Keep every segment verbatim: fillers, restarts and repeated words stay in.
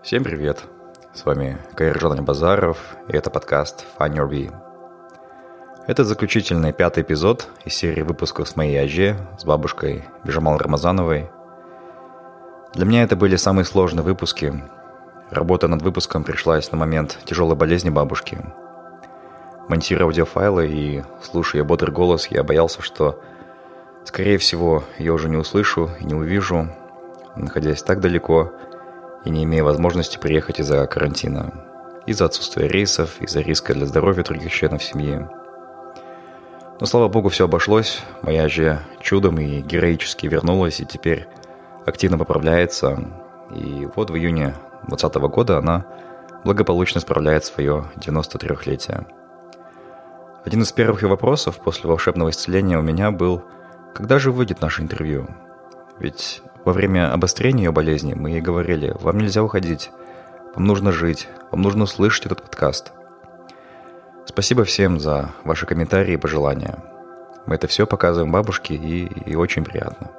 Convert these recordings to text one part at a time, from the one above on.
Всем привет! С вами Кайыржан Альбазаров, и это подкаст Find Your Bee. Это заключительный пятый эпизод из серии выпусков с моей Аже, с бабушкой Бижамал Рамазановой. Для меня это были самые сложные выпуски. Работа над выпуском пришлась на момент тяжелой болезни бабушки. Монтируя аудиофайлы и слушая бодрый голос, я боялся, что, скорее всего, я уже не услышу и не увижу, находясь так далеко и не имея возможности приехать из-за карантина, из-за отсутствия рейсов, из-за риска для здоровья других членов семьи. Но, слава богу, все обошлось. Моя же чудом и героически вернулась, и теперь активно поправляется. И вот в июне двадцатого года она благополучно справляет свое девяносто трёхлетие. Один из первых ее вопросов после волшебного исцеления у меня был: когда же выйдет наше интервью? Ведь во время обострения ее болезни мы ей говорили: вам нельзя уходить, вам нужно жить, вам нужно услышать этот подкаст. Спасибо всем за ваши комментарии и пожелания. Мы это все показываем бабушке, и, и очень приятно.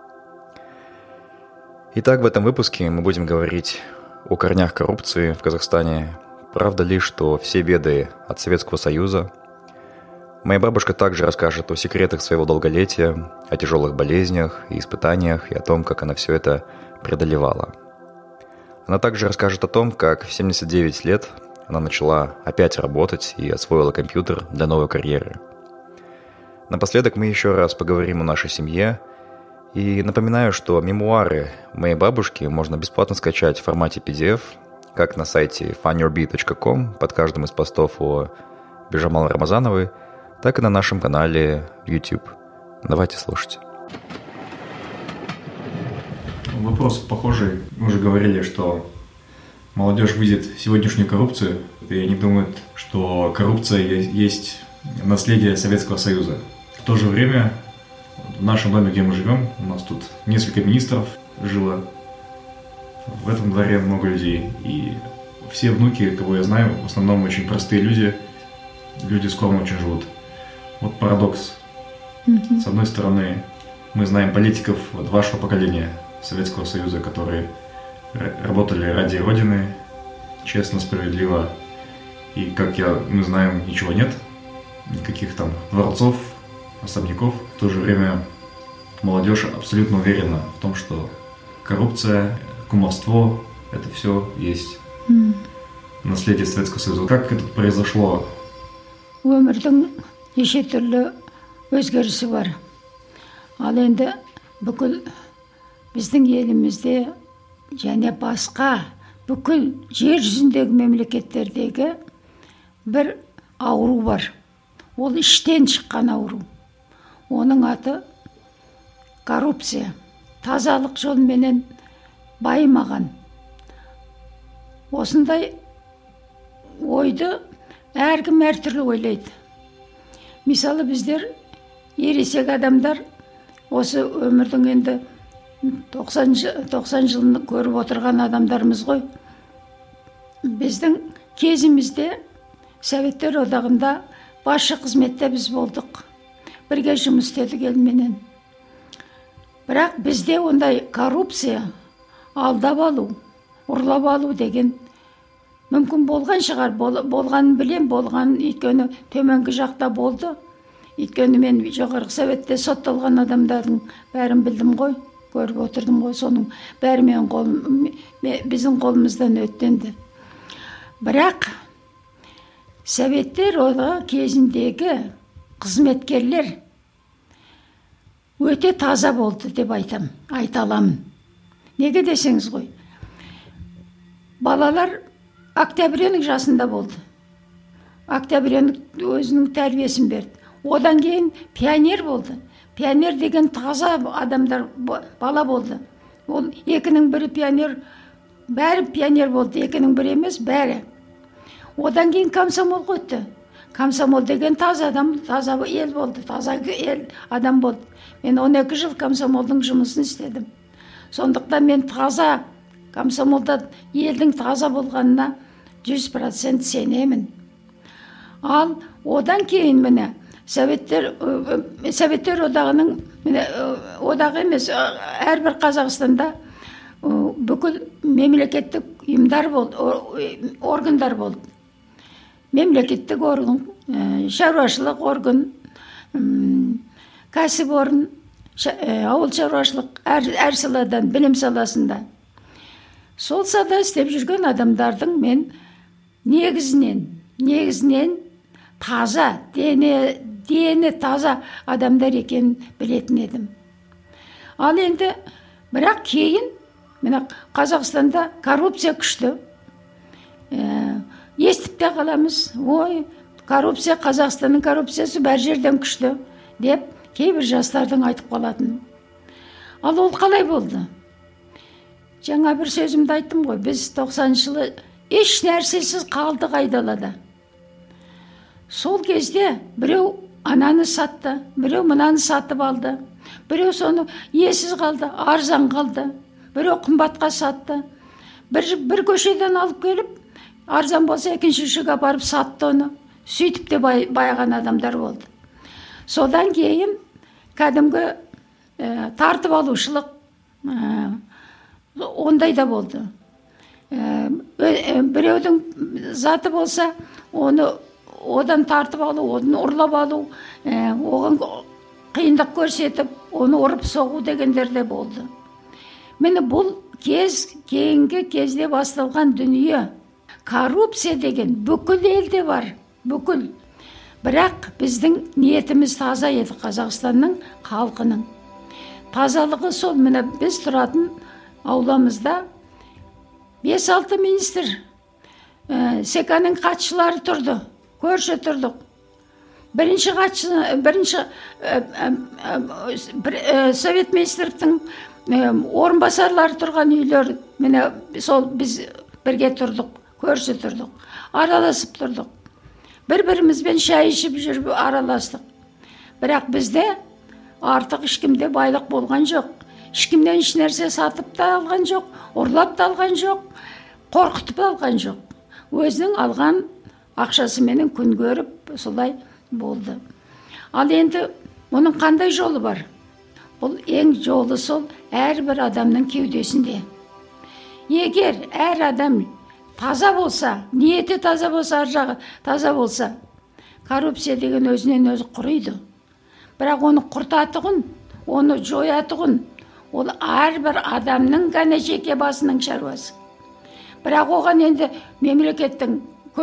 Итак, в этом выпуске мы будем говорить о корнях коррупции в Казахстане. Правда ли, что все беды от Советского Союза? Моя бабушка также расскажет о секретах своего долголетия, о тяжелых болезнях и испытаниях, и о том, как она все это преодолевала. Она также расскажет о том, как в семьдесят девять лет она начала опять работать и освоила компьютер для новой карьеры. Напоследок мы еще раз поговорим о нашей семье. И напоминаю, что мемуары моей бабушки можно бесплатно скачать в формате пи ди эф, как на сайте find your bee точка com под каждым из постов о Бижамал Рамазановой, так и на нашем канале в YouTube. Давайте слушать. Вопрос похожий. Мы уже говорили, что молодежь видит сегодняшнюю коррупцию, и они думают, что коррупция есть наследие Советского Союза. В то же время в нашем доме, где мы живем, у нас тут несколько министров жило. В этом дворе много людей. И все внуки, кого я знаю, в основном очень простые люди. Люди скромно очень живут. Вот парадокс. Mm-hmm. С одной стороны, мы знаем политиков вот вашего поколения Советского Союза, которые работали ради Родины, честно, справедливо. И, как я, мы знаем, ничего нет. Никаких там дворцов, особняков. В то же время молодежь абсолютно уверена в том, что коррупция, кумовство – это все есть mm. наследие Советского Союза. Как это произошло? Өмірдің неше түрлі өзгерісі бар. Ал енді бүкіл біздің елімізде және басқа бүкіл жер жүзіндегі мемлекеттердегі бір ауру бар. Ол іштен шыққан ауру. Оның аты коррупция. Тазалық жолменен байымаған. Осындай ойды әркім әртүрлі ойлайды. Мысалы біздер ересек адамдар осы өмірдің енді тоқсан жылын көріп отырған адамдарымыз ғой. Біздің кезімізде Советтер одағында басшы қызметте біз болдық. Бірге жұмыс істедік елменен. Бірақ бізде ондай коррупция, алдап алу, ұрлап алу деген мүмкін болған шығар. Болғанын білем, болған өйткені төменгі жақта болды. Өйткені мен жоғарғы Советте сотталған адамдардың бәрін білдім ғой, көріп отырдым ғой. Соның бәрі мен қолым, біздің қолымыздан өттенді. Бірақ Советтер одағы кезіндегі қызметкерлер өте таза болды деп айтам, айта аламын. Неге десеңіз ғой? Балалар Октябрьнің жасында болды. Октябрьнің өзінің тәрбиесін берді. Одан кейін пионер болды. Пионер деген таза адамдар бала болды. Ол екінің бірі пионер, бәрі пионер болды. Екінің бірі емес, бәрі. Одан кейін комсомол өтті. Комсомол деген таза адам, таза ел болды, таза ел адам болды. Мен он екі жыл комсомолдың жұмысын істедім. Сондықтан мен таза комсомолда елдің таза болғанына жүз процент сенемін. Ал одан кейін міне Советтер Советтер одағының міне одағы емес, әрбір Қазақстанда бүкіл мемлекеттік ұйымдар болды, органдар болды. Мемлекеттік орган, шаруашылық орган, кәсіпорын, ауыл шаруашылық, әр саладан, білім саласында. Сол салада істеп жүрген адамдардың мен негізінен, негізінен таза, дені, дені таза адамдар екенін білетін едім. Ал енді, бірақ кейін, мына Қазақстанда коррупция күшті. Естіп те қаламыз, ой, коррупция, Қазақстанның коррупциясы бәр жерден күшті, деп кейбір жастардың айтып қалатын. Ал ол қалай болды? Жаңа бір сөзімді айттым ғой, біз тоқсаныншы жылы еш нәрсесіз қалдық айдалада. Сол кезде біреу ананы сатты, біреу мынаны сатып алды, біреу соны иесіз қалды, арзан қалды, біреу қымбатқа сатты. Бір, бір көшеден алып келіп, арзан болса екінші шыға барып сатты оны. Сөйтіп те бай, байған адамдар болды. Содан кейін кәдімгі ә, тартып алушылық ә, ондай да болды. Ә, біреудің заты болса, оны одан тартып алу, одан ұрлап алу, ә, оған қиындық көрсетіп, оны ұрып соғу дегендер де болды. Мені бұл кез, кейінгі кезде басталған дүние. Коррупция деген бүкіл елде бар, бүкіл. Бірақ біздің ниетіміз таза еді, Қазақстанның халқының. Тазалығы сол, міне біз тұратын ауламызда бес алты министр, ә, секаның хатшылары тұрды, көрші тұрдық. Бірінші хатшы, бірінші ә, ә, ә, совет министрліктің ә, орынбасарлары тұрған үйлер, міне сол біз бірге тұрдық, көрші тұрдық, араласып тұрдық. Бір-бірімізбен шай ішіп жүріп араластық. Бірақ бізде артық ешкімде байлық болған жоқ. Ешкімнен еш нәрсе сатып та алған жоқ, ұрлап та алған жоқ, қорқытып та алған жоқ. Өзінің алған ақшасыменен күн көріп, солай болды. Ал енді оның қандай жолы бар? Бұл ең жолы сол әрбір адамның кеудесінде. Егер әр адам таза болса, ниеті таза болса, ар жағы таза болса, коррупция деген өзінен өзі құрайды. Бірақ оны құртатығын, оны жоятығын, ол әрбір адамның ғана жеке басының шаруасы. Бірақ оған енді мемлекеттің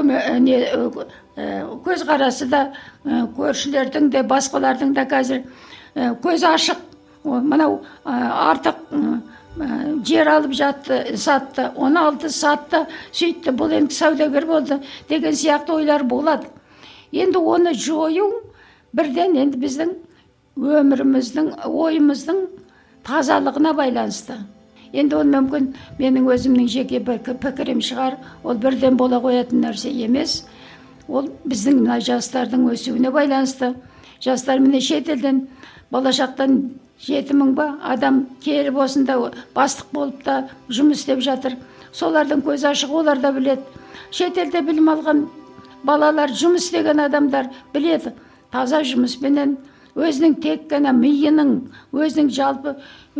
көзқарасы да, көршілердің де, басқалардың да қазір көз ашық. Мынау артық жер алып жатты, сатты, оны алды, сатты, сөйтті, бұл енді саудагер болды деген сияқты ойлар болады. Енді оны жою бірден енді біздің өміріміздің, ойымыздың тазалығына байланысты. Енді ол мүмкін менің өзімнің жеке пікірім шығар, ол бірден бола қоятын нәрсе емес. Ол біздің мына жастардың өсуіне байланысты. Жастар міне шетелден, болашақтан жеті мың ба адам келіп осында бастық болып та жұмыс істеп жатыр. Солардың көз ашық, олар да біледі. Шетелде білім алған балалар, жұмыс істеген адамдар біледі. Таза жұмыспенен, өзінің тек қана миының, өзінің жалпы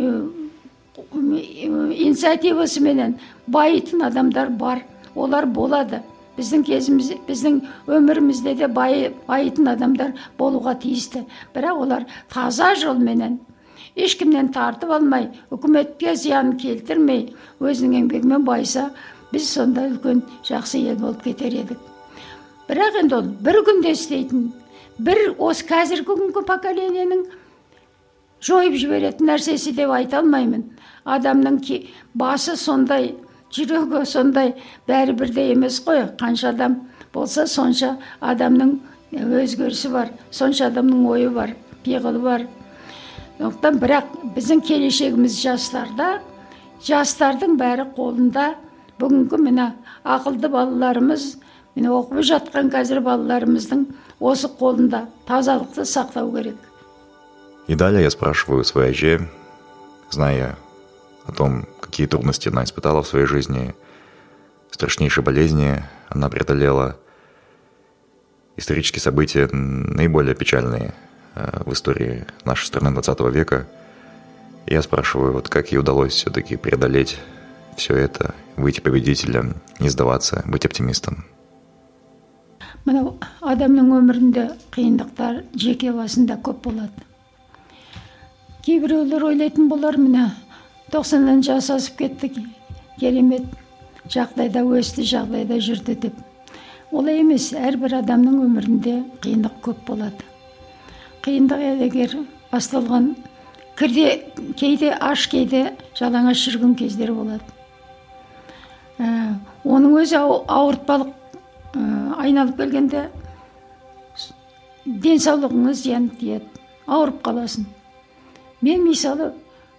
инициативасыменен байытын адамдар бар. Олар болады. Біздің кезіміз, біздің өмірімізде де байытын адамдар болуға тиісті. Бірақ олар таза жолменен, ешкімнен тартып алмай, үкіметке зиян келтірмей, өзінің еңбегімен байса, біз сонда үлкен жақсы ел болып кетер едік. Бірақ енді ол бір күнде істейтін, бір осы қазіргі күнгі поколенияның жойып жіберетін нәрсесі деп айта алмаймын. Адамның басы сондай, жүрегі сондай, бәрі бірдей емес қой. Қанша адам болса, сонша адамның өзгерісі бар, сонша адамның ойы бар, пиғылы бар. Оқтан бірақ біздің келешегіміз жастарда, жастардың бәрі қолында. Бүгінгі мына ақылды балаларымыз, міне оқып жатқан қазір балаларымыздың осы қолында тазалықты сақтау керек. И далее я спрашиваю своей Аже, зная о том, какие трудности она испытала в своей жизни, страшнейшие болезни она преодолела, исторические события наиболее печальные в истории нашей страны двадцатого века. И я спрашиваю, вот как ей удалось все-таки преодолеть все это, выйти победителем, не сдаваться, быть оптимистом? Мына адамның өмірінде қиындықтар жеке басында көп болады. Кейбіреулер ойлайтын болар, міне тоқсаннан жас асып кетті, керемет жағдайда өсті, жағдайда жүрді деп. Олай емес, әрбір адамның өмірінде қиындық көп болады. Қиындық егер басталған кірде, кейде аш, кейде жалаңаш жүрген кездер болады. Ә, оның өзі ауыртпалық ә, айналып келгенде денсаулығыңыз зиян тиеді, ауырып қаласың. Мен мысалы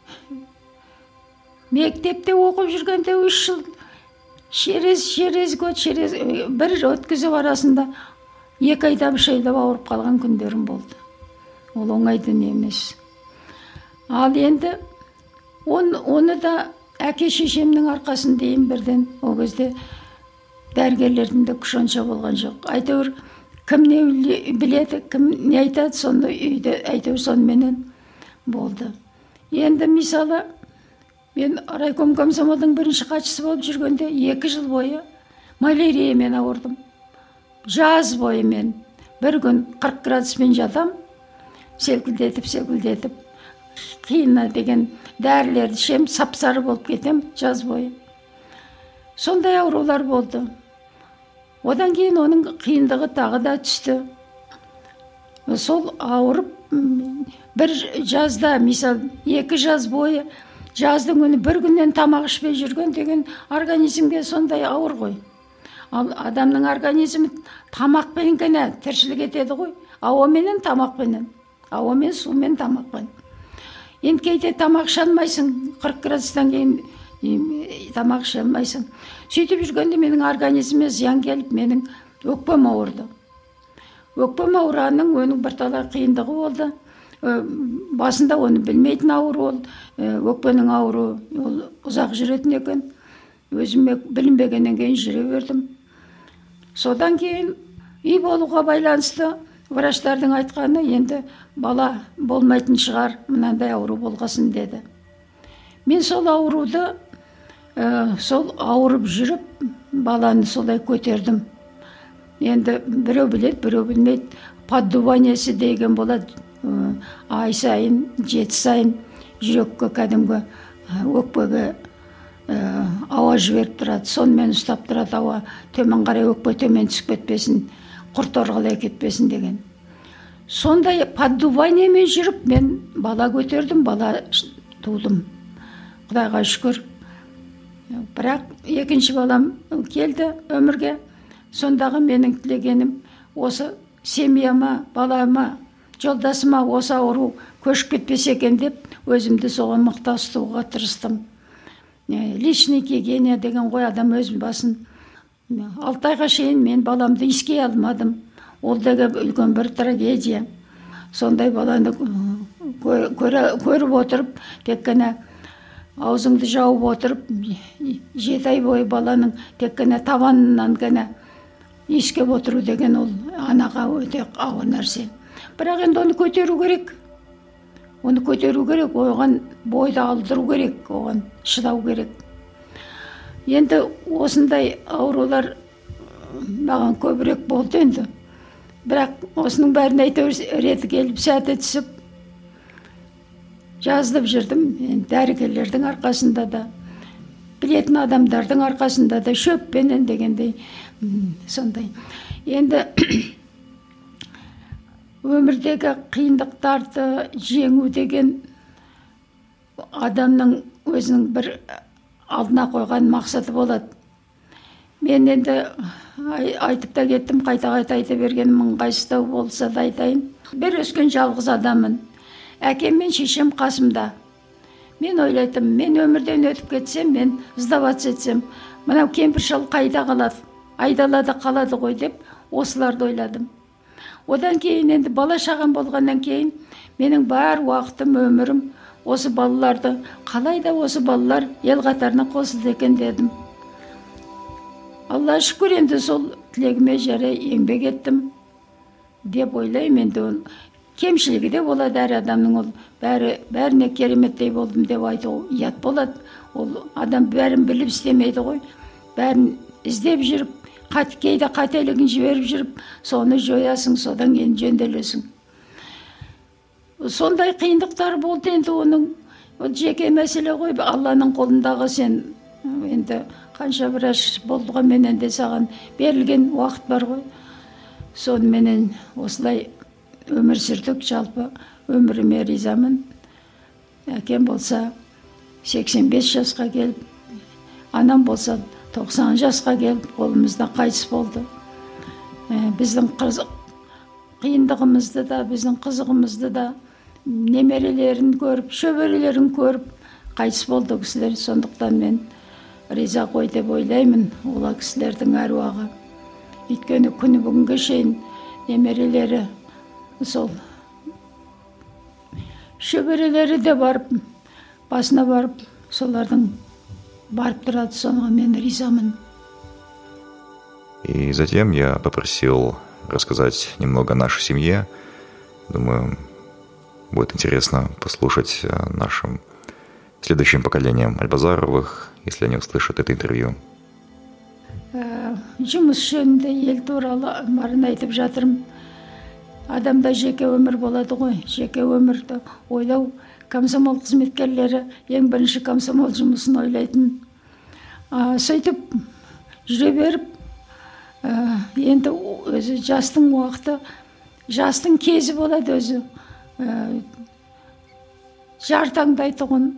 мектепте оқып жүргенде үш жыл через через год через бір өткізіп арасында екі айда үш айда ауырып қалған күндерім болды. Ол оңайды емес. Ал енді он, оны да әке шешемнің арқасында дейін бірден, о кезде дәрігерлердің де күш онша болған жоқ. Әйтеуір кім не біледі, кім не айтады, сонда үйде әйтеуір сонымен болды. Енді мысалы мен райком комсомолдың бірінші хатшысы болып жүргенде екі жыл бойы маляриямен ауырдым. Жаз бойы мен бір күн қырық градуспен жатам, селкілдетіп, селкілдетіп, қиына деген дәрілерді ішем, сап-сары болып кетем жаз бойы. Сондай аурулар болды. Одан кейін оның қиындығы тағы да түсті. Сол ауырып, бір жазда, misal екі жаз бойы, жаздың күні бір күннен тамақ ішпей жүрген деген организмге сондай ауыр ғой. Ал адамның организмі тамақпен ғана тіршілік етеді ғой. Ауаменен, тамақпенен. Ауамен, сумен, тамақпен. Енді кейде тамақ іше алмайсың, қырық градустан кейін тамақ іше алмайсың. Сөйтіп жүргенде менің организміме зиян келіп, менің өкпем ауырды. Өкпем ауырғанның оның бірталай қиындығы болды. Басында оны білмейтін ауру ол, өкпенің ауру ол ұзақ жүретін екен. Өзіме білінбегеннен кейін жүре бердім. Содан кейін үй болуға байланысты врачтардың айтқаны, енді бала болмайтын шығар, мынандай ауру болғасын деді. Мен сол ауруды, ә, сол ауырып жүріп, баланы солай көтердім. Енді біреу біледі, біреу білмейді. Поддуваниясы деген болады. Ай сайын, жеті сайын жүрекке кәдімгі өкпеге ауа жіберіп тұрады. Сонымен ұстап тұрады ауа. Төмен қарай өкпе төмен түсіп кетпесін, құрт орғалай кетпесін деген. Сондай поддуваниямен жүріп, мен бала көтердім, бала тудым. Құдайға шүкір. Бірақ екінші балам келді өмірге. Сондағы менің тілегенім осы семьяма, балама, жолдасыма осы ауру көшіп кетпесе екен деп, өзімді соған мықты ұстауға тырыстым. Личный гигиена деген ғой, адам өз басын. Алты айға шейін мен баламды иіскей алмадым. Ол деген үлкен бір трагедия. Сондай баланы көріп отырып, тек қана аузыңды жауып отырып, жеті ай бойы баланың тек қана табанынан ғана иіскеп отыру деген ол анаға өте ауыр нәрсе. Бірақ енді оны көтеру керек. Оны көтеру керек, оған бойды алдыру керек, оған шыдау керек. Енді осындай аурулар маған көбірек болды енді. Бірақ осының бәрін әйтеуір реті келіп, сәті түсіп, жазылып жүрдім. Дәрігерлердің арқасында да, білетін адамдардың арқасында да, шөппенен дегендей, сондай. Енді өмірдегі қиындықтарды жеңу деген адамның өзінің бір алдына қойған мақсаты болады. Мен енді айтып та кеттім, қайта-қайта айта бергенім ыңғайсыздау болса да айтайын. Бір өскен жалғыз адаммын. Әкем мен шешем қасымда. Мен ойлайтым, мен өмірден өтіп кетсем, мен сдаваться етсем, мынау кемпір шал қайда қалады, айдалада қалады ғой деп, осыларды ойладым. Одан кейін енді бала шағам болғаннан кейін менің бар уақытым, өмірім осы балаларды, қалайда осы балалар ел қатарына қосылды екен дедім. Алла шүкір, енді сол тілегіме жарай еңбек еттім деп ойлаймын. Енді кемшілігі де болады әр адамның, ол бәрі бәріне кереметтей болдым деп айту ұят болады. Ол адам бәрін біліп істемейді ғой. Бәрін іздеп жүріп, қат, кейде қателігін жіберіп жүріп, соны жоясың, содан кейін жөнделесің. Сондай қиындықтар болды енді оның. Ол жеке мәселе ғой, Алланың қолындағы. Сен енді қанша біраш болдыға менен де саған берілген уақыт бар ғой. Сонымен осылай өмір сүрдік, жалпы өміріме ризамын. Әкем болса сексен бес жасқа келіп, анам болса тоқсан жасқа келіп, қолымызда қайтыс болды. Біздің қиындығымызды да, біздің қызығымызды да, немерелерін көріп, шөберелерін көріп, қайтыс болды кісілер. Сондықтан мен риза ғой деп ойлаймын ола кісілердің әруағы. Өйткені күні бүгінге шейін немерелері, сол шөберелері де барып, басына барып, солардың барып тұрады, соныға мен ризамын. И затем я попросил рассказать немного о нашей семье. Думаю, будет интересно послушать нашим следующим поколениям Альбазаровых, если они услышат это интервью. Жұмыс жөнінде ел туралы барын айтып жатырмын. Адамда жеке өмір болады ғой, жеке өмірді ойлау. Комсомол қызметкерлері ең бірінші комсомол жұмысын ойлайтын. Сөйтіп жүре беріп, енді өзі жастың уақыты, жастың кезі болады өзі. Жар таңдайтұғын,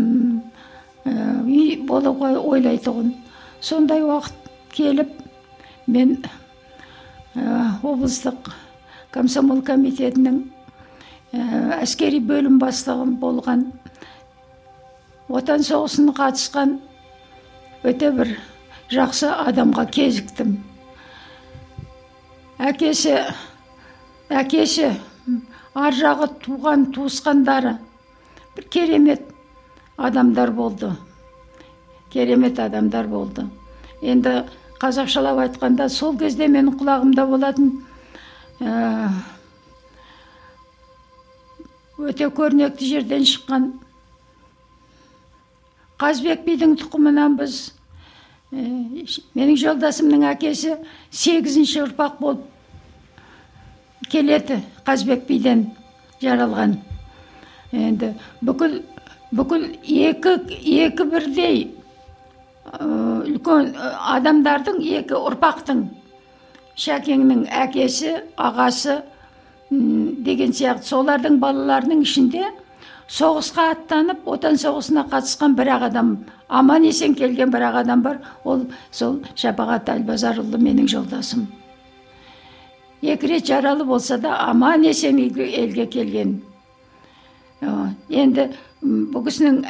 үй болуға ойлайтұғын. Сондай уақыт келіп, мен облыстық комсомол комитетінің әскери бөлім бастығым болған, отан соғысына қатысқан өте бір жақсы адамға кезіктім. Әкесі, әкесі, ар жағы туған туысқандары бір керемет адамдар болды. Керемет адамдар болды. Енді қазақшалап айтқанда, сол кезде менің құлағымда болатын өте көрнекті жерден шыққан Қазбек бидің тұқымынан біз, менің жолдасымның әкесі сегізінші ұрпақ болып келеді, Қазбек биден жаралған. Енді бүкіл бүкіл екі екі бірдей үлкен адамдардың, екі ұрпақтың, Шәкеңнің әкесі, ағасы деген сияқты солардың балаларының ішінде соғысқа аттанып, отан соғысына қатысқан бір-ақ адам, аман есен келген бір-ақ адам бар. Ол сол Шапағат Альбазарұлы менің жолдасым. Екі рет жаралы болса да аман есен елге келген. Енді бұл кісінің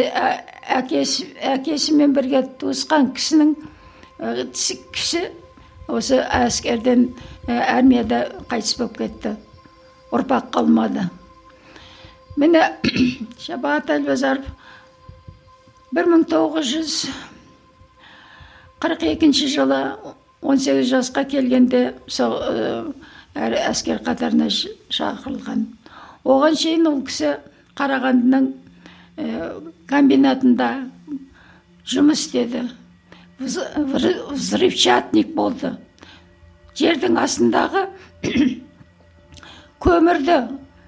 әкесімен бірге туысқан кісінің кісі осы әскерден, армияда қайтыс болып кетті. Ұрпақ қалмады. Мені Шапағат Альбазаров бір мың тоғыз жүз қырық екінші жылы он сегіз жасқа келгенде әскер қатарына шақырылған. Оған шейін ол кісі Қарағандының комбинатында жұмыс істеді. Взрывчатник болды. Жердің астындағы көмірді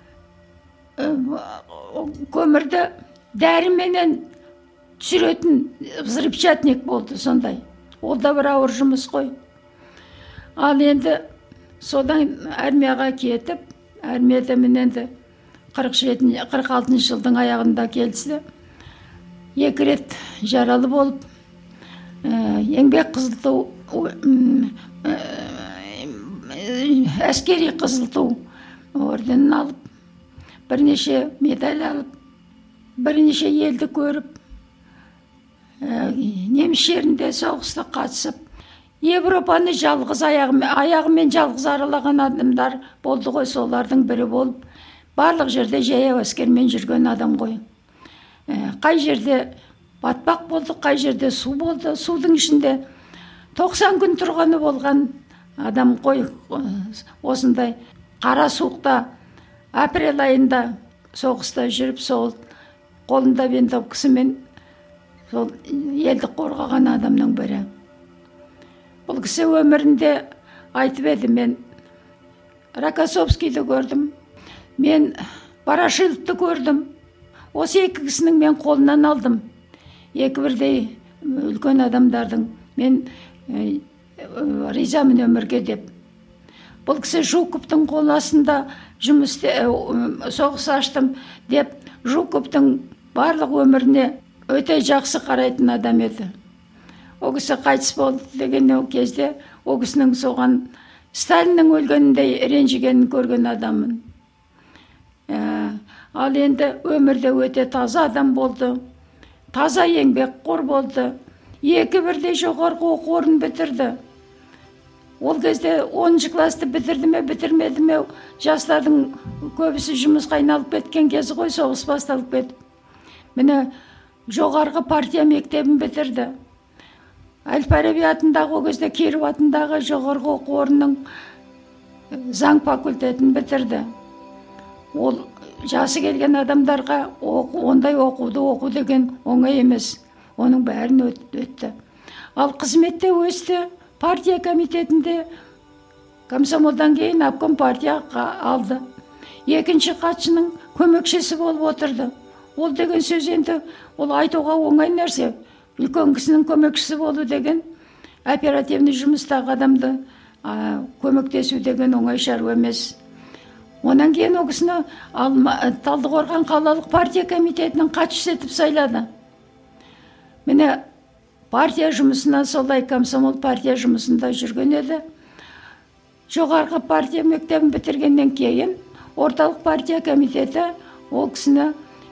көмірді дәріменен түсіретін взрывчатник болды сондай. Ол да бір ауыр жұмыс қой. Ал енді содан армияға кетіп, армияда мен енді қырық алтыншы жылдың аяғында келді. Екі рет жаралы болып, еңбек қызыл ту, әскери қызыл ту орденін алып, бірнеше медаль алып, бірнеше елді көріп, неміс жерінде соғысқа қатысып, Европаны жалғыз аяғымен, аяғымен жалғыз аралаған адамдар болды ғой, солардың бірі болып, барлық жерде жаяу әскермен жүрген адам ғой. Қай жерде батпақ болды, қай жерде су болды, судың ішінде тоқсан күн тұрғаны болған адам ғой. Осындай қара суықта апрель айында соғыста жүріп, сол қолында винтовкасымен сол елді қорғаған адамның бірі. Бұл кісі өмірінде айтып еді, мен Рокоссовскийді көрдім, мен Ворошиловты көрдім. Осы екі кісінің мен қолынан алдым. Екі бірдей үлкен адамдардың. Мен ә, ризамын өмірге деп. Бұл кісі Жуковтың қол астында жұмыс ә, соғыс аштым деп, Жуковтың барлық өміріне өте жақсы қарайтын адам еді. О кісі қайтыс болды деген кезде, о кісінің соған Сталиннің өлгеніндей ренжігенін көрген адаммын. Ә, ал енді өмірде өте таза адам болды. Таза еңбекқор болды. Екі бірдей жоғарғы оқу орнын бітірді. Ол кезде оныншы класты бітірді ме, бітірмеді ме, жастардың көбісі жұмысқа айналып кеткен кезі ғой, соғыс басталып кетіп. Міне жоғарғы партия мектебін бітірді. Әл-Фараби атындағы, о кезде Киров атындағы жоғарғы оқу орнының заң факультетін бітірді. Ол жасы келген адамдарға оқу, ондай оқуды оқу деген оңай емес. Оның бәрін өтті. Ал қызметте өсті, партия комитетінде комсомолдан кейін обком партияға алды. Екінші хатшының көмекшісі болып отырды. Ол деген сөз енді, ол айтуға оңай нәрсе. Үлкен кісінің көмекшісі болу деген, оперативный жұмыстағы адамды а, көмектесу деген оңай шаруа емес. Онан кейін ол кісіні Талдықорған қалалық партия комитетінің хатшысы етіп сайлады. Міне партия жұмысына, солай комсомол партия жұмысында жүрген еді. Жоғарғы партия мектебін бітіргеннен кейін орталық партия комитеті ол кісіні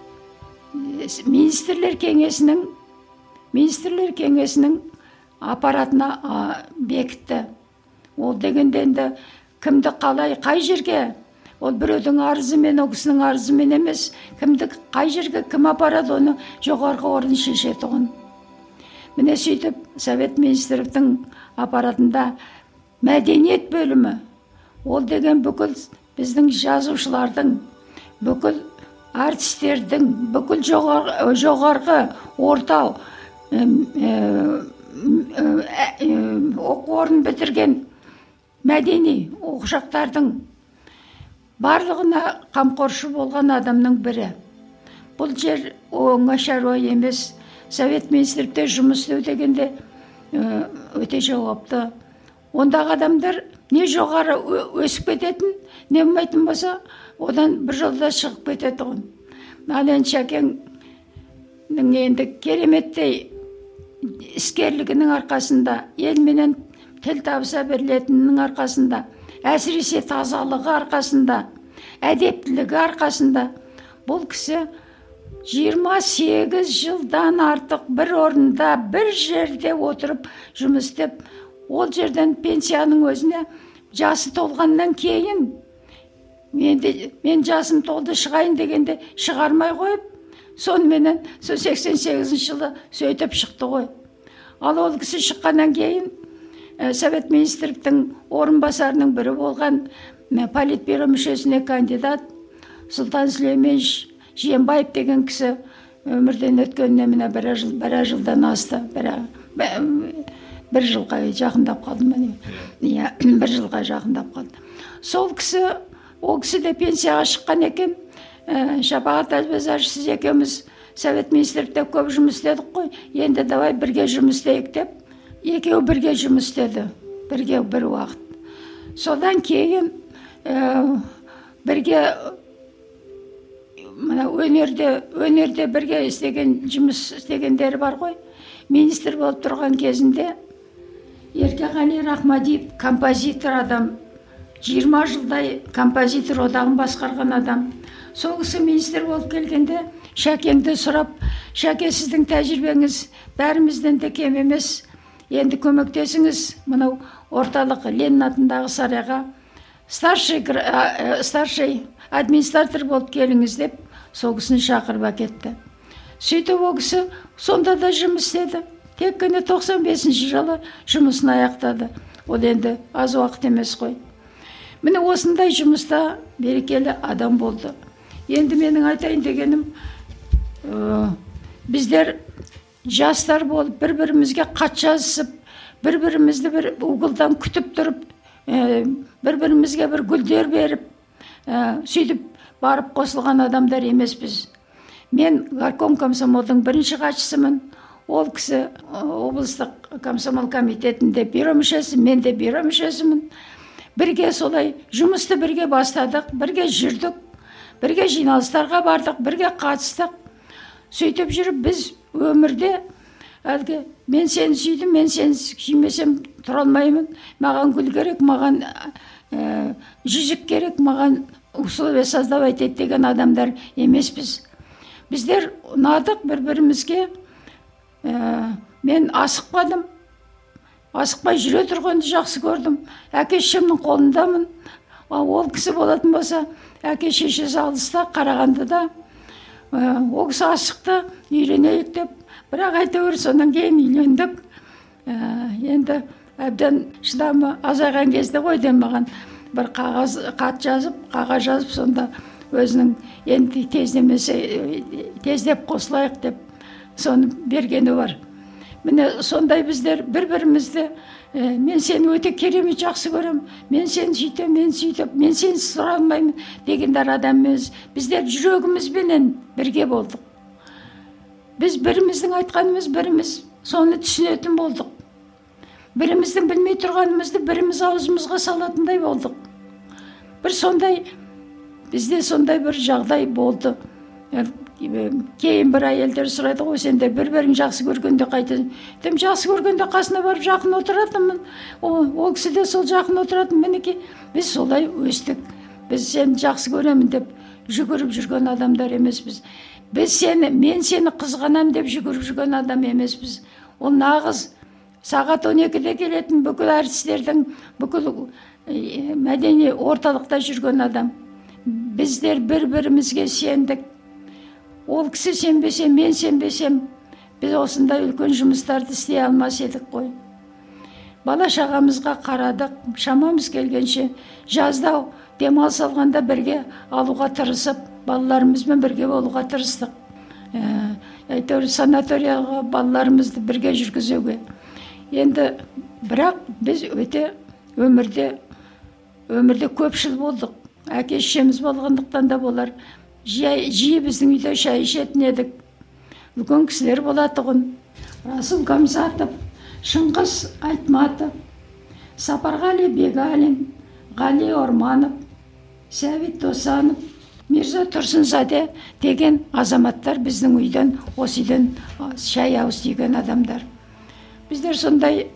министрлер кеңесінің министрлер кеңесінің аппаратына бекітті. Ол дегенде енді кімді қалай, қай жерге, ол біреудің арызымен, ол кісінің арызымен емес, кімді қай жерге кім апарады, оны жоғарғы орын шешеді оны. Міне сөйтіп, Совет министрліктің аппаратында мәдениет бөлімі, ол деген бүкіл біздің жазушылардың, бүкіл артистердің, бүкіл жоғарғы, жоғарғы орта оқу орнын бітірген мәдени оқушақтардың барлығына қамқоршы болған адамның бірі. Бұл жер оңай шаруа емес. Совет министрлікте жұмыс істеу дегенде өте жауапты. Ондағы адамдар не жоғары өсіп кететін, не болмайтын болса, одан бір жолда шығып кетеді ғой. Ал енді Шәкеңнің енді кереметтей іскерлігінің арқасында, елменен тіл табыса берілетінінің арқасында, әсіресе тазалығы арқасында, әдептілігі арқасында бұл кісі жиырма сегіз жылдан артық бір орында, бір жерде отырып жұмыс істеп, ол жерден пенсияның өзіне жасы толғаннан кейін, мен, де, мен жасым толды шығайын дегенде шығармай қойып, сонымен сол сексен сегізінші жылы сөйтіп шықты ғой. Ал ол кісі шыққаннан кейін ә, Совет министрліктің орынбасарының бірі болған ә, политбюро мүшесіне кандидат Сұлтан Сүлейменович Жиенбаев деген кісі өмірден өткеніне міне бір жыл, бір жылдан асты. Бір, бір жылға жақындап қалды ма? Иә, бір жылға жақындап қалды. Сол кісі, ол кісі де пенсияға шыққан екен. Ә, Шапағат Әлбазаров, сіз екеуміз Совет министрлікте көп жұмыс істедік қой, енді давай бірге жұмыс істейік деп, екеуі бірге жұмыс істеді, бірге бір уақыт. Содан кейін ә, бірге мына өнерде, өнерде бірге істеген жұмыс істегендері бар ғой. Министр болып тұрған кезінде Еркеғали Рахмадиев композитор адам, жиырма жылдай композитор одағын басқарған адам. Сол кісі министр болып келгенде Шәкеңді сұрап, Шәке, сіздің тәжірибеңіз бәрімізден де кем емес, енді көмектесіңіз мынау орталық Ленин атындағы сарайға старший, старший администратор болып келіңіз деп сол кісіні шақырып әкетті. Сөйтіп ол кісі сонда да жұмыс істеді. Тек қана тоқсан бесінші жылы жұмысын аяқтады. Ол енді аз уақыт емес қой. Міне осындай жұмыста берекелі адам болды. Енді менің айтайын дегенім, ә, біздер жастар болып бір-бірімізге хат жазысып, бір-бірімізді бір угылдан күтіп тұрып, ә, бір-бірімізге бір гүлдер беріп, ә, сөйтіп барып қосылған адамдар емеспіз. Мен горком комсомолдың бірінші хатшысымын. Ол кісі облыстық комсомол комитетінде бюро мүшесі, мен де бюро мүшесімін. Бірге солай жұмысты бірге бастадық, бірге жүрдік, бірге жиналыстарға бардық, бірге қатыстық. Сөйтіп жүріп біз өмірде әлгі мен сені сүйдім, мен сені сүймесем тұра алмаймын. Маған гүл керек, маған ә, жүзік керек, маған условия создавать ет деген адамдар емеспіз. Біздер ұнадық бір-бірімізге. Ә, мен асықпадым. Асықпай жүре тұрғанды жақсы көрдім. Әке-шешемнің қолындамын. Ол кісі болатын болса, әке-шешесі алыста, Қарағандыда. Ә, ол кісі асықты, үйленейік деп. Бірақ әйтеуір содан кейін үйлендік. Ә, енді әбден шыдамы азайған кезде ғой деп маған бір қағаз хат жазып, қағаз жазып, сонда өзінің енді тездемесе тездеп қосылайық деп соны бергені бар. Міне сондай біздер бір-бірімізді, ә, мен сені өте керемет жақсы көрем, мен сені сөйтем, мен сөйтіп, мен сені сұра алмаймын дегендер адамымыз. Біздер жүрегімізбенен бірге болдық. Біз біріміздің айтқанымыз біріміз соны түсінетін болдық. Біріміздің білмей тұрғанымызды біріміз аузымызға салатындай болдық. Бір сондай, бізде сондай бір жағдай болды. Кейін бір әйелдер сұрайды ғой, сендер бір-бірін жақсы көргенде қайтасың. Дем, жақсы көргенде қасына барып жақын отыратынмын. Ол кісі де сол жақын отыратын. Мінекей біз солай өстік. Біз сені жақсы көремін деп жүгіріп жүрген адамдар емеспіз. Біз сені, мен сені қызғанам деп жүгіріп жүрген адам емеспіз. Ол нағыз сағат он екіде келетін бүкіл әртістердің, бүкіл мәдени орталықта жүрген адам. Біздер бір-бірімізге сендік. Ол кісі сенбесе, мен сенбесем, біз осындай үлкен жұмыстарды істей алмас едік қой. Бала шағамызға қарадық, шамамыз келгенше, жазда демалыс алғанда бірге алуға тырысып, балаларымызбен бірге болуға тырыстық. Әйтеуір санаторияға балаларымызды бірге жүргізуге. Енді бірақ біз өте өмірде өмірде көпшіл болдық. Әке-шешеміз болғандықтан да болар. Жиі біздің үйде шай ішетін едік. Үлкен кісілер болатұғын. Расул Гамзатов, Шыңғыс Айтматов, Сапарғали Бегалин, Ғали Орманов, Сәбит Досанов, Мирза Тұрсынзаде деген азаматтар біздің үйден, осы үйден шай ауыз тиген адамдар. Біздер сондай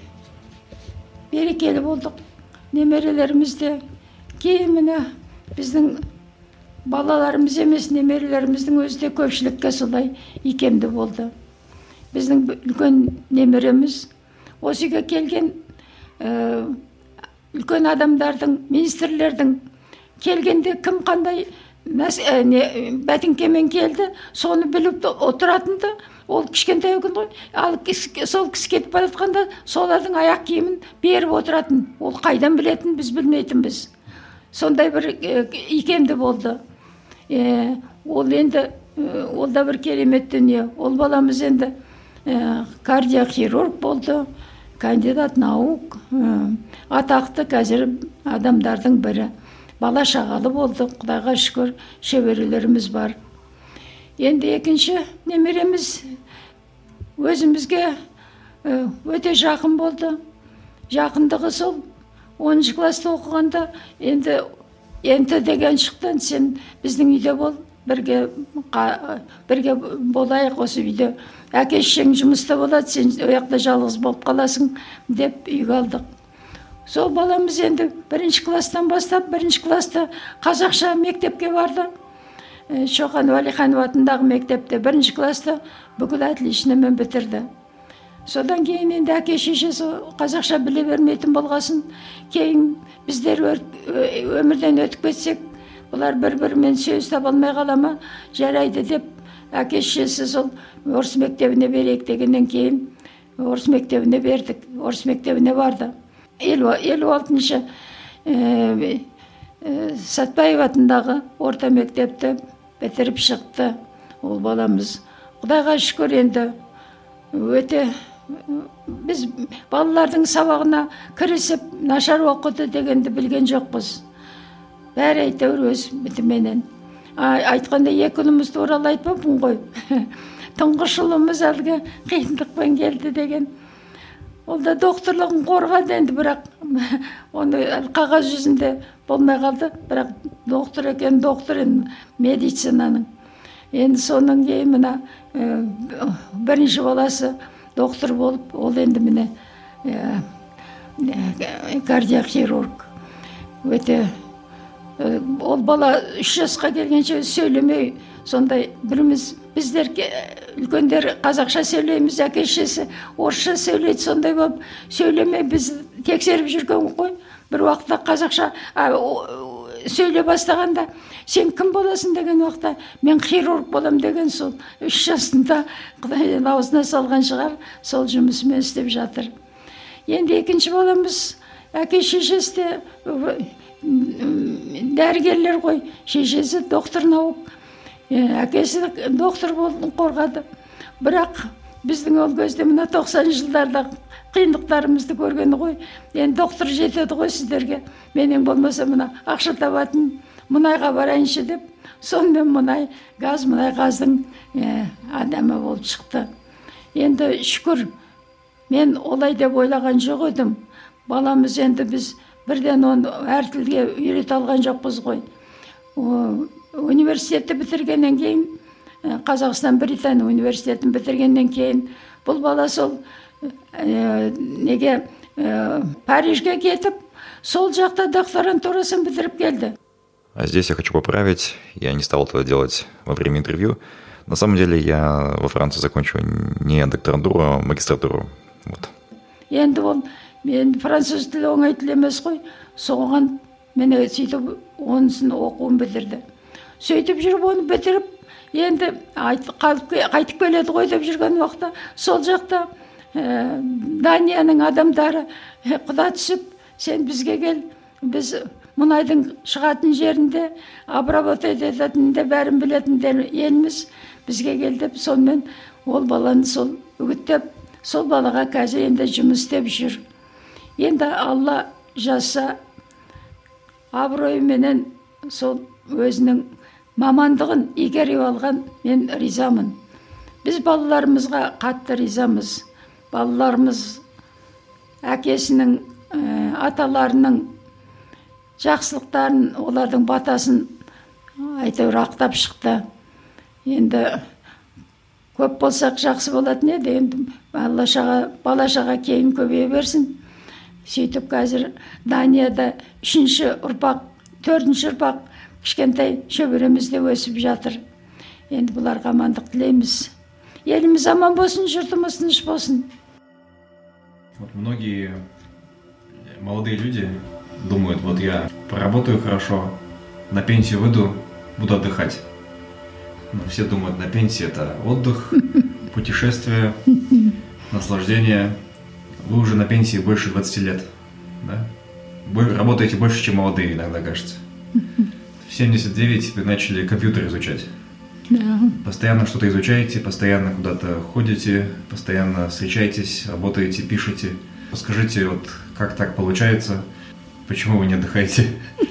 берекелі болдық. Немерелерімізде кейіміне біздің балаларымыз емес, немерелеріміздің өзі де көпшілікке солай икемді болды. Біздің үлкен немереміз осы үйге келген ә, үлкен адамдардың, министрлердің келгенде кім қандай ә, не, бәтіңкемен келді, соны біліп отыратынды. Ол кішкентай екен ғой. Ал сол кісі кетіп бара жатқанда солардың аяқ киімін беріп отыратын. Ол қайдан білетін, біз білмейтінбіз. Сондай бір икемді болды. Е, ол енді, ол да бір керемет дүние. Ол баламыз енді ә, кардиохирург болды, кандидат наук, ә, атақты қазір адамдардың бірі. Бала шағалы болды, Құдайға шүкір, шеберелеріміз бар. Енді екінші немереміз өзімізге өте жақын болды. Жақындығы сол оныншы класста оқығанда енді енді деген шықтан, сен біздің үйде бол, бірге, бірге болайық осы үйде. Әке-шешең жұмыста болады, сен ояқта жалғыз болып қаласың деп үйге алдық. Сол баламыз енді бірінші класстан бастап, бірінші класста қазақша мектепке барды. Шоқан Уәлиханов атындағы мектепте бірінші класста бүкіл отличномен бітірді. Содан кейін енді әке-шешесі қазақша біле бермейтін болғасын, кейін біздер өмірден өтіп кетсек, бұлар бір-бірімен сөз таба алмай қала ма, жарайды деп әке-шешесі сол орыс мектебіне берейік дегеннен кейін орыс мектебіне бердік. Орыс мектебіне барды. елу алтыншы Сәтбаев атындағы орта мектепті бітіріп шықты ол баламыз. Құдайға шүкір, енді өте біз балалардың сабағына кірісіп нашар оқыды дегенді білген жоқпыз. Бәрі әйтеуір өз бітіменен. Айтқанда екі ұлымыз туралы айтпаппын ғой. Тұңғыш ұлымыз әлгі қиындықпен келді деген. Ол да докторлығын қорғады енді, бірақ оны қағаз жүзінде болмай қалды. Бірақ доктор екен, доктор енді медицинаның. Енді соның кейін мына бірінші баласы доктор болып, ол енді міне кардиохирург. Өте ол бала үш жасқа келгенше сөйлемей, сондай біріміз біздер үлкендер қазақша сөйлейміз, әке-шешесі орысша сөйлейді, сондай болып сөйлемей біз тексеріп жүрген ғой. Бір уақытта қазақша сөйлей бастағанда, сен кім боласың деген уақытта, мен хирург болам деген, сол үш жасында Құдай аузына салған шығар, сол жұмысымен істеп жатыр. Енді екінші баламыз әке-шешесі де дәрігерлер ғой, шешесі доктор наук, әкесі доктор болдың қорғады. Бірақ біздің ол кезде мына тоқсаныншы жылдарда қиындықтарымызды көргені ғой. Енді доктор жетеді ғой сіздерге. Менен болмаса мына ақша табатын мұнайға барайыншы деп, сонымен мұнай, газ, мұнай газдың адамы болып шықты. Енді шүкір, мен олай деп ойлаған жоқ едім. Баламыз енді біз бірден оны әр тілге үйрете алған жоқпыз ғой. Университетті бітіргеннен кейін, Қазақстан Британия университетін бітіргеннен кейін, бұл бала сол неге Парижге кетіп, сол жақта докторантурасын бітіріп келді. А здесь я хочу поправить, я не стал этого делать во время интервью. На самом деле я во Франции закончил не докторантуру, а магистратуру. Вот. Енді ол, мен француз тілі оңай тіл емес қой, соған мен сөйтіп онысын оқуын бітірді. Сөйтіп жүріп оны бітіріп, енді қайтып келеді ғой деп жүрген уақытта, сол жақта Данияның адамдары құда түсіп, сен бізге кел, біз мұнайдың шығатын жерінде обработать ететінінде бәрін білетіндер елміз, бізге кел деп, сонымен ол баланы сол үгіттеп, сол балаға қазір енді жұмыс істеп жүр. Енді Алла жазса, абыройменен сол өзінің мамандығын игеріп алған, мен ризамын. Біз балаларымызға қатты ризамыз. Балаларымыз әкесінің, аталарының жақсылықтарын, олардың батасын әйтеуір ақтап шықты. Енді көп болсақ жақсы болатын еді, енді бала-шаға кейін көбейе берсін. Сөйтіп қазір Данияда үшінші ұрпақ, төртінші ұрпақ кішкентай шөберемізде өсіп жатыр. Енді бұларға амандық тілейміз. Еліміз аман болсын, жұртымыз тыныш болсын. Вот многие молодые люди думают, вот я поработаю хорошо, на пенсию выйду, буду отдыхать. Но все думают, на пенсии это отдых, путешествие, наслаждение. Вы уже на пенсии больше двадцати лет, да? Вы работаете больше, чем молодые, иногда кажется. В семьдесят девять вы начали компьютер изучать. Да. Постоянно что-то изучаете, постоянно куда-то ходите, постоянно встречаетесь, работаете, пишете. Расскажите, вот как так получается, почему вы не отдыхаете?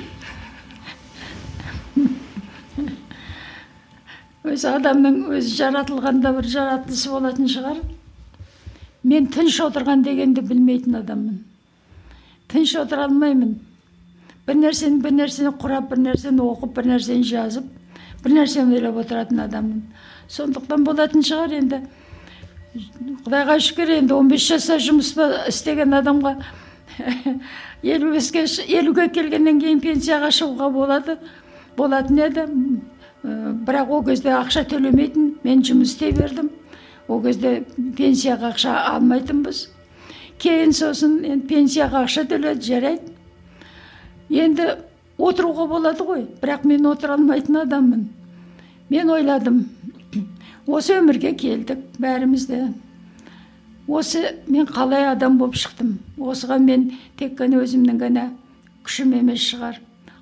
Өз адамның өзі жаратылғанда бір жаратылысы болатын шығар. Мен тыныш отырған дегенді білмейтін адаммын. Тыныш отыра алмаймын. Бір нәрсені, бір нәрсені құрап, бір нәрсені оқып, бір нәрсені жазып, бір нәрсені ойлап отыратын адаммын. Сондықтан болатын шығар енді. Құдайға шүкір, енді он бес жаста жұмыс істеген адамға елуге келгеннен кейін пенсияға шығуға болады. Болатын еді. Бірақ о кезде ақша төлемейтін, мен жұмыс істей бердім. О кезде пенсияға ақша алмайтынбыз. Кейін сосын пенсияға ақша төледі, жарайды. Енді отыруға болады ғой, бірақ мен отыра алмайтын адаммын. Мен ойладым, осы өмірге келдік бәрімізде. Осы мен қалай адам болып шықтым. Осыға мен тек қана өзімнің ғана күшім емес шығар.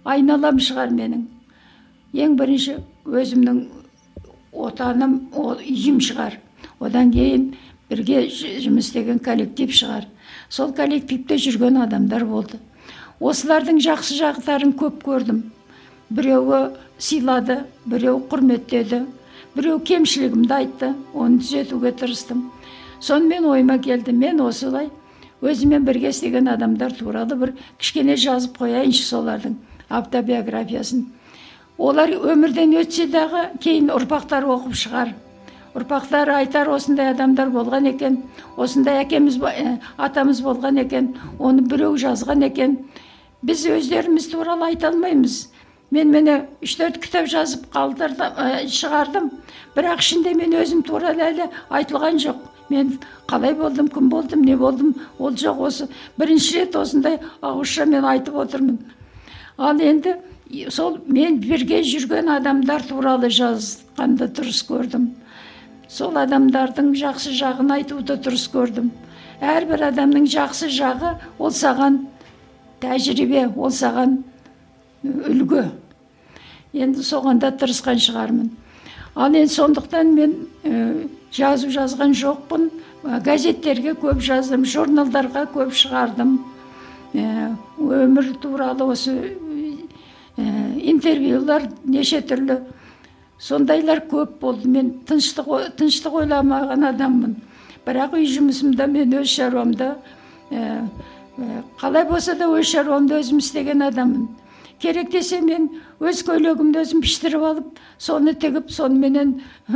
айналам шығар менің. Ең бірінші өзімнің отаным, үйім шығар. Одан кейін бірге жұмыс істеген коллектив шығар. Сол коллективте жүрген адамдар болды. Осылардың жақсы жақтарын көп көрдім. Біреуі сыйлады, біреуі құрметтеді, біреу кемшілігімді айтты, оны түзетуге тырыстым. Сонымен ойыма келді, мен осылай өзімен бірге істеген адамдар туралы бір кішкене жазып қояйыншы солардың автобиографиясын. Олар өмірден өтсе дағы кейін ұрпақтар оқып шығар. Ұрпақтар айтар, осындай адамдар болған екен, осындай әкеміз, атамыз болған екен, оны біреу жазған екен. Біз өздеріміз туралы айта алмаймыз. Мен мені үш-төрт кітап жазып қалдырдым, шығардым. Бірақ ішінде мен өзім туралы әлі айтылған жоқ. Мен қалай болдым, кім болдым, не болдым, ол жоқ. Осы бірінші рет осындай ауызша мен айтып отырмын. Ал енді сол мен бірге жүрген адамдар туралы жазғанды дұрыс көрдім. Сол адамдардың жақсы жағын айтуды дұрыс көрдім. Әрбір адамның жақсы жағы ол саған тәжірибе, ол саған үлгі. Енді соғанда тырысқан шығармын. Ал енді сондықтан мен ә, жазу жазған жоқпын. Газеттерге көп жаздым, журналдарға көп шығардым. Ә, өмір туралы осы ә, интервьюлар неше түрлі. Сондайлар көп болды. Мен тыныштық, тыныштық ойламаған адаммын. Бірақ үй жұмысымда мен өз шаруамда, ә, ә, қалай болса да өз шаруамда өзім істеген адаммын. Керек десе мен өз көйлегімді өзім піштіріп алып, соны тігіп, соныменен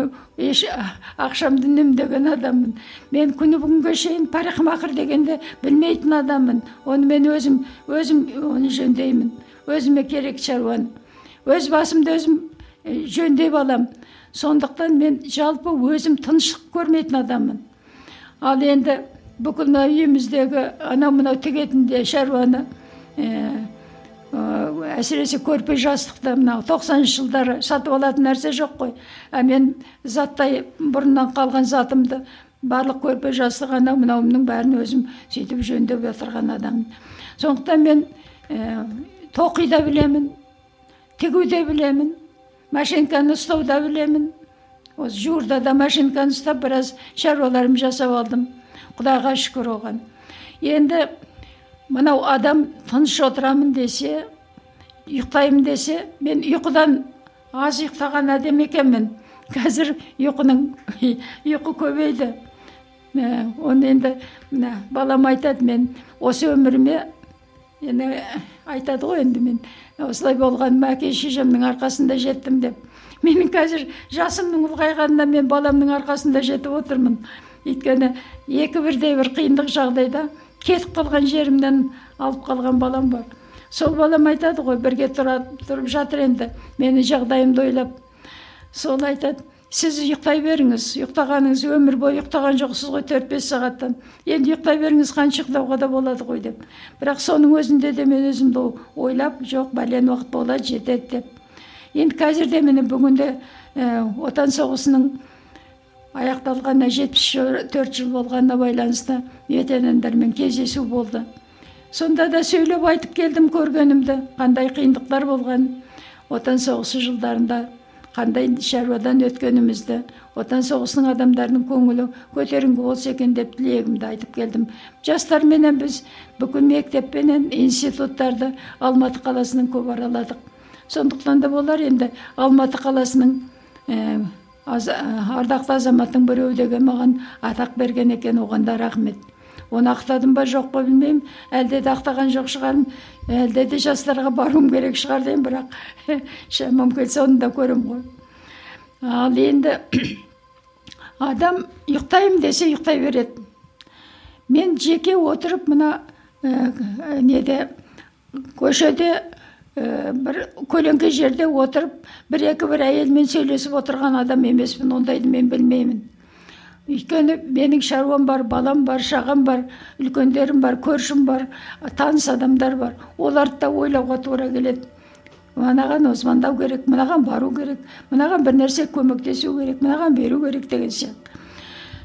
ақшамды үнемдеген адаммын. Мен күні бүгінге шейін парикмахер дегенде білмейтін адаммын. Оны мен өзім, өзім оны жөндеймін. Өзіме керек шаруаны. Өз басымды өзім жөндеп алам. Сондықтан мен жалпы өзім тыныштық көрмейтін адаммын. Ал енді бүкіл үйіміздегі анау-мынау тігетінде шаруаны әсіресе көрпе жастықты мынау тоқсаныншы жылдары сатып алатын нәрсе жоқ қой. А мен заттай бұрыннан қалған затымды барлық көрпе жастық анау мынауымның бәрін өзім сөйтіп жөндеп отырған адаммын. Сондықтан мен ә, тоқи да білемін, тігу де білемін, машинканы ұстау да білемін. Осы жуырда да машинканы ұстап біраз шаруаларым жасап алдым. Құдайға шүкір оған. Енді мынау адам тыныш отырамын десе, ұйықтаймын десе, мен ұйқыдан аз ұйықтаған адам екенмін. Қазір ұйқының ұйқы көбейді. Оны енді балам айтады, мен осы өміріме енді айтады ғой, енді мен осылай болғаным әке шешемнің арқасында жеттім деп. Менің қазір жасымның ұлғайғанына мен баламның арқасында жетіп отырмын. Өйткені екі бірдей бір қиындық жағдайда кетіп қалған жерімнен алып қалған балам бар. Сол балам айтады ғой, бірге тұрып жатыр енді, мені жағдайымды ойлап. Сол айтады, сіз ұйықтай беріңіз, ұйықтағаныңыз өмір бойы ұйықтаған жоқсыз ғой, төрт-бес сағаттан. Енді ұйықтай беріңіз, қанша ұйықтауға да болады ғой деп. Бірақ соның өзінде де мен өзімді ойлап, жоқ, бәлен уақыт болады, жетеді деп. Енді қазір де мені бүгінде ә, отан соғысының аяқталғанына жетпіс төрт жыл болғанына байланысты ветерандармен кездесу болды. Сонда да сөйлеп айтып келдім көргенімді, қандай қиындықтар болған, отан соғысы жылдарында қандай шаруадан өткенімізді, отан соғысының адамдарының көңілі көтеріңкі болса екен деп тілегімді айтып келдім. Жастарменен біз бүкіл мектеппенен институттарды Алматы қаласының көп араладық. Сондықтан да болар енді Алматы қаласының ә, аз, ардақты азаматтың біреуі деген маған атақ берген екен, оған да рахмет. Оны ақтадым ба жоқ па білмеймін, әлде де ақтаған жоқ шығарым, әлде де жастарға баруым керек шығар деймін, бірақ шамам келсе оны да көрем ғой. Ал енді адам ұйықтаймын десе ұйықтай береді. Мен жеке отырып мына ә, неде көшеде ә, бір көлеңке жерде отырып бір-екі бір әйелмен сөйлесіп отырған адам емеспін, ондайды мен білмеймін. Өйткені менің шаруам бар, балам бар, шағам бар, үлкендерім бар, көршім бар, таныс адамдар бар. Оларды да ойлауға тура келеді. Мынаған озмандау керек, мынаған бару керек, мынаған бір нәрсе көмектесу керек, мынаған беру керек деген сияқты.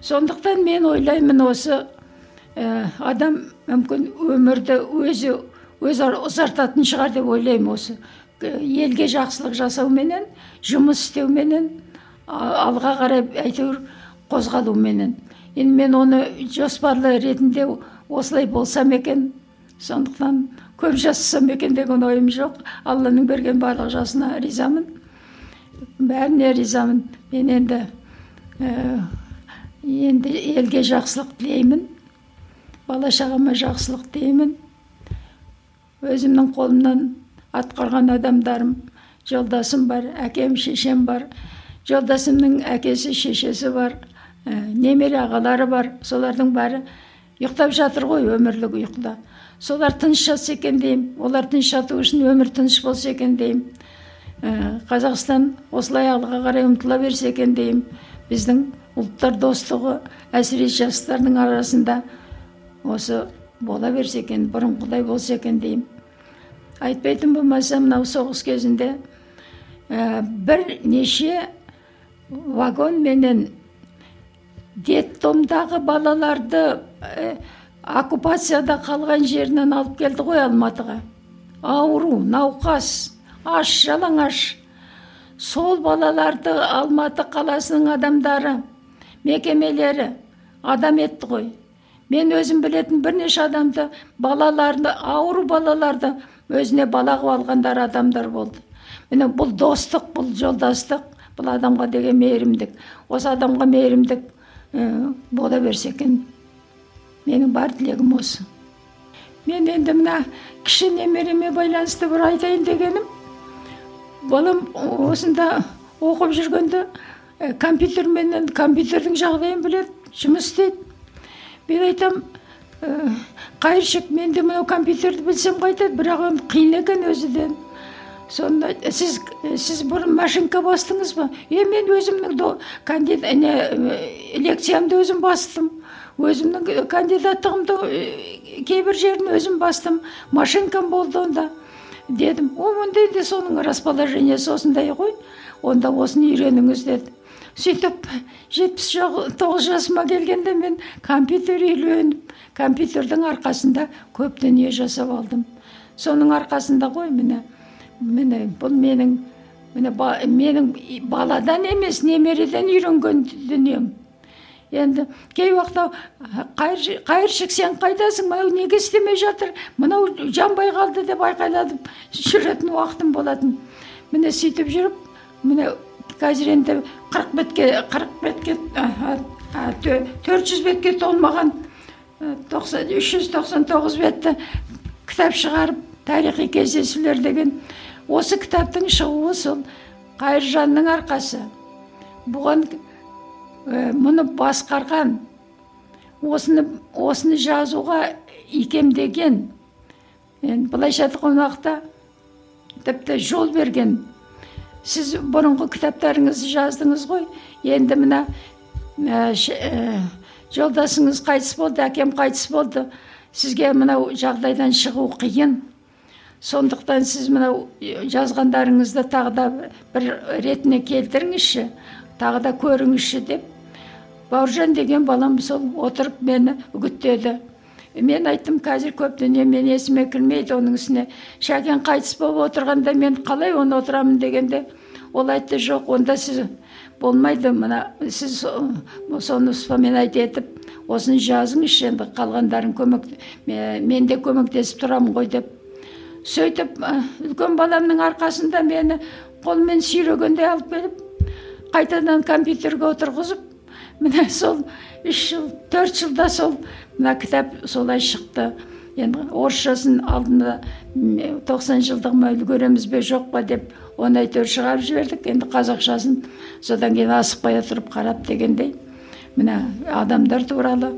Сондықтан мен ойлаймын, осы ә, адам мүмкін өмірді өзі өз ұзартатын шығар деп ойлаймын. Осы елге жақсылық жасау менен, жұмыс істеу менен, алға қарай әйтеуір қозғалу менен. Енді мен оны жоспарлы ретінде осылай болсам екен, сондықтан көп жасасам екен деген ойым жоқ. Алланың берген барлық жасына ризамын. Бәріне ризамын. Мен енді ә, енді елге жақсылық тілеймін. Бала шағама жақсылық тілеймін. Өзімнің қолымнан атқарған адамдарым, жолдасым бар, әкем, шешем бар. Жолдасымның әкесі, шешесі бар, ә, немере ағалары бар. Солардың бәрі ұйықтап жатыр ғой, өмірлік ұйқыда. Солар тыныш жатса екен деймін. Олар тыныш жату үшін өмір тыныш болса екен деймін. Ә, Қазақстан осылай алға қарай ұмтыла берсе екен деймін. Біздің ұлттар достығы, әсіресе жастардың арасында осы бола берсе екен, бұрынғыдай болса екен деймін. Айтпайтын болмаса, мынау соғыс кезінде ә, бір неше вагон менен детдомдағы балаларды ә, оккупацияда қалған жерінен алып келді ғой Алматыға. Ауру, науқас, аш, жалаңаш. Сол балаларды Алматы қаласының адамдары, мекемелері адам етті ғой. Мен өзім білетін бірнеше адамды, балаларды, ауру балаларды өзіне балағып алғандар адамдар болды. Міне бұл достық, бұл жолдастық, бұл адамға деген мейірімдік. Осы адамға мейірімдік ә, бола берсе екен. Менің бар тілегім осы. Мен енді мына кіші немереме байланысты бір айтайын дегенім. Балам осында оқып жүргенде ә, компьютерменен, компьютердің жағдайын біледі, жұмыс істейді. Мен айтам, ә, қайыршық, мен де мынау компьютерді білсем қайтады, бірақ оны қиын екен өзіден. Сонда сіз сіз бұрын машинка бастыңыз ба? Е, мен өзімнің до кандидат не лекциямды өзім бастым. Өзімнің кандидаттығымды кейбір жерін өзім бастым. Машинкам болды онда. Дедім, о, онда енді соның расположениесі осындай ғой. Онда осыны үйреніңіз деді. Сөйтіп, жетпіс тоғыз жасыма келгенде мен компьютер үйреніп, компьютердің арқасында көп дүние жасап алдым. Соның арқасында ғой, міне, міне, бұл менің, міне, ба, менің баладан емес, немереден үйренген дүнием. Енді кей уақытта қайыршық, сен қайдасың, мынау неге істемей жатыр, мынау жанбай қалды деп айқайладым, жүретін уақытым болатын. Міне сөйтіп жүріп, міне қазір енді қырық бетке, қырық бетке, төрт жүз бетке толмаған үш жүз тоқсан тоғыз бетті кітап шығарып, тарихи кездесулер деген. Осы кітаптың шығуы сол Қайыржанның арқасы. Бұған мұны басқарған, осыны, осыны жазуға икемдеген, былайша айтқан уақытта тіпті жол берген. Сіз бұрынғы кітаптарыңызды жаздыңыз ғой, енді мына ә, ә, жолдасыңыз қайтыс болды, әкем қайтыс болды, сізге мынау жағдайдан шығу қиын. Сондықтан сіз мынау жазғандарыңызды тағы да бір ретіне келтіріңізші, тағы да көріңізші деп. Бауыржан деген балам сол отырып мені үгіттеді. Мен айттым, қазір көп дүние мен есіме кірмейді, оның үстіне Шәкен қайтыс болып отырғанда мен қалай оны отырамын дегенде, ол айтты, жоқ, онда сіз болмайды, мына сіз соны вспоминать етіп, осыны жазыңызшы, енді қалғандарын көмек, мен де көмектесіп тұрамын ғой деп. Сөйтіп, үлкен баламның арқасында мені қолмен сүйрегенде алып келіп, қайтадан компьютерге отырғызып, міне сол үш жыл, төрт жылда сол мына кітап солай шықты. Енді орысшасын алдында тоқсан жылдығыма үлгереміз бе жоқ па деп оны әйтеуір шығарып жібердік. Енді қазақшасын содан кейін асықпай отырып қарап дегендей. Міне адамдар туралы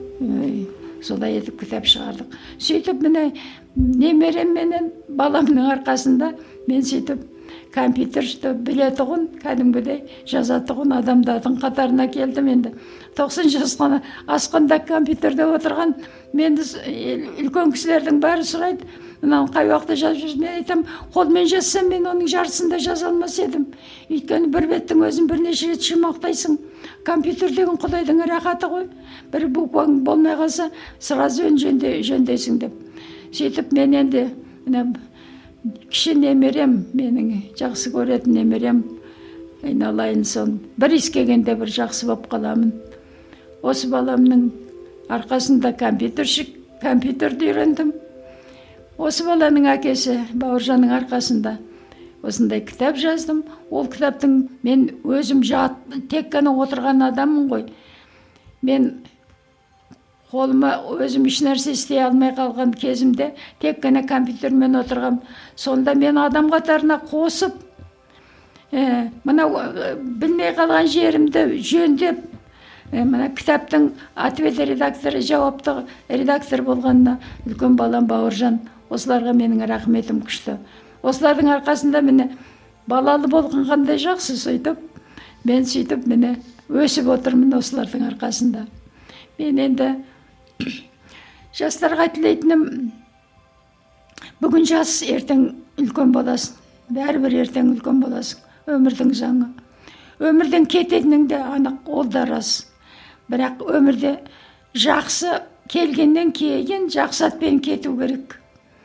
солай етіп кітап шығардық. Сөйтіп міне немерем менен баламның арқасында мен сөйтіп компьютерді білетұғын, кәдімгідей жазатұғын адамдардың қатарына келдім енді. тоқсан жасқа асқанда компьютерде отырған менді үлкен кісілердің бәрі сұрайды, мынау қай уақытта жазып жүрсің? Мен айтам, қолмен жазсам мен оның жартысын жаза алмас едім. Өйткені бір беттің өзін бірнеше рет шумақтайсың. Компьютер деген Құдайдың рахаты ғой. Бір букваң болмай қалса, сразу жөндейсің деп. Сөйтіп мен енді мына кіші немерем, менің жақсы көретін немерем, айналайын сон. Бір искегенде бір жақсы болып қаламын. Осы баламның арқасында компьютершік, компьютерді үйрендім. Осы баланың әкесі Бауыржанның арқасында осындай кітап жаздым. Ол кітаптың мен өзім жат, тек қана отырған адаммын ғой. Мен қолыма өзім еш нәрсе істей алмай қалған кезімде тек қана компьютермен отырғам. Сонда мен адам қатарына қосып, ә, мына білмей қалған жерімді жөндеп, ә, мына кітаптың ответ редакторы, жауапты редактор болғанына үлкен балам Бауыржан, осыларға менің рахметім күшті. Осылардың арқасында міне балалы болған қандай жақсы, сөйтіп мен сөйтіп міне өсіп отырмын осылардың арқасында. Мен енді жастарға тілейтінім, бүгін жас, ертең үлкен боласың. Бәрібір ертең үлкен боласың. Өмірдің заңы. Өмірден кететінің де анық, ол да рас. Бірақ өмірде жақсы келгеннен кейін жақсы атпен кету керек.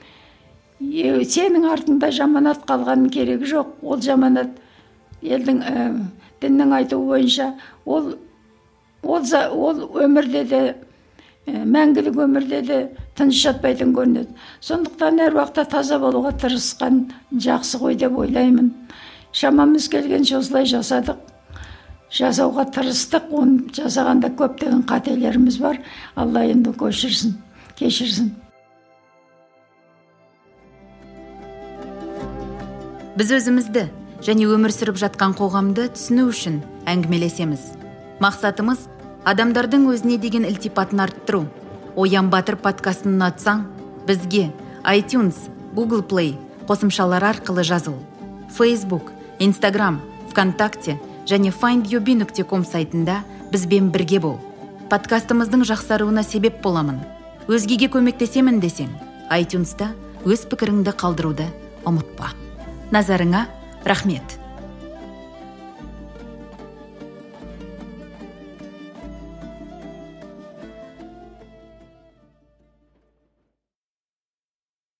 Сенің артында жаманат қалғанның керегі жоқ. Ол жаманат елдің ә, діннің айтуы бойынша ол ол, ол өмірде де ә, мәңгілік өмірде де тыныш жатпайтын көрінеді. Сондықтан әр уақытта таза болуға тырысқан жақсы ғой деп ойлаймын. Шамамыз келгенше осылай жасадық. Жасауға тырыстық. Оны жасағанда көптеген қателеріміз бар. Алла енді кешірсін, кешірсін. Біз өзімізді және өмір сүріп жатқан қоғамды түсіну үшін әңгімелесеміз. Мақсатымыз адамдардың өзіне деген ілтипатын арттыру. Оян Батыр подкастын ұнатсаң, бізге iTunes, Google Play қосымшалары арқылы жазыл. Facebook, Instagram, ВКонтакте және файнд ю би нүкте ком сайтында бізбен бірге бол. Подкастымыздың жақсаруына себеп боламын. Өзгеге көмектесемін десең, iTunes'та өз пікіріңді қалдыруды ұмытпа. Назарыңа рахмет.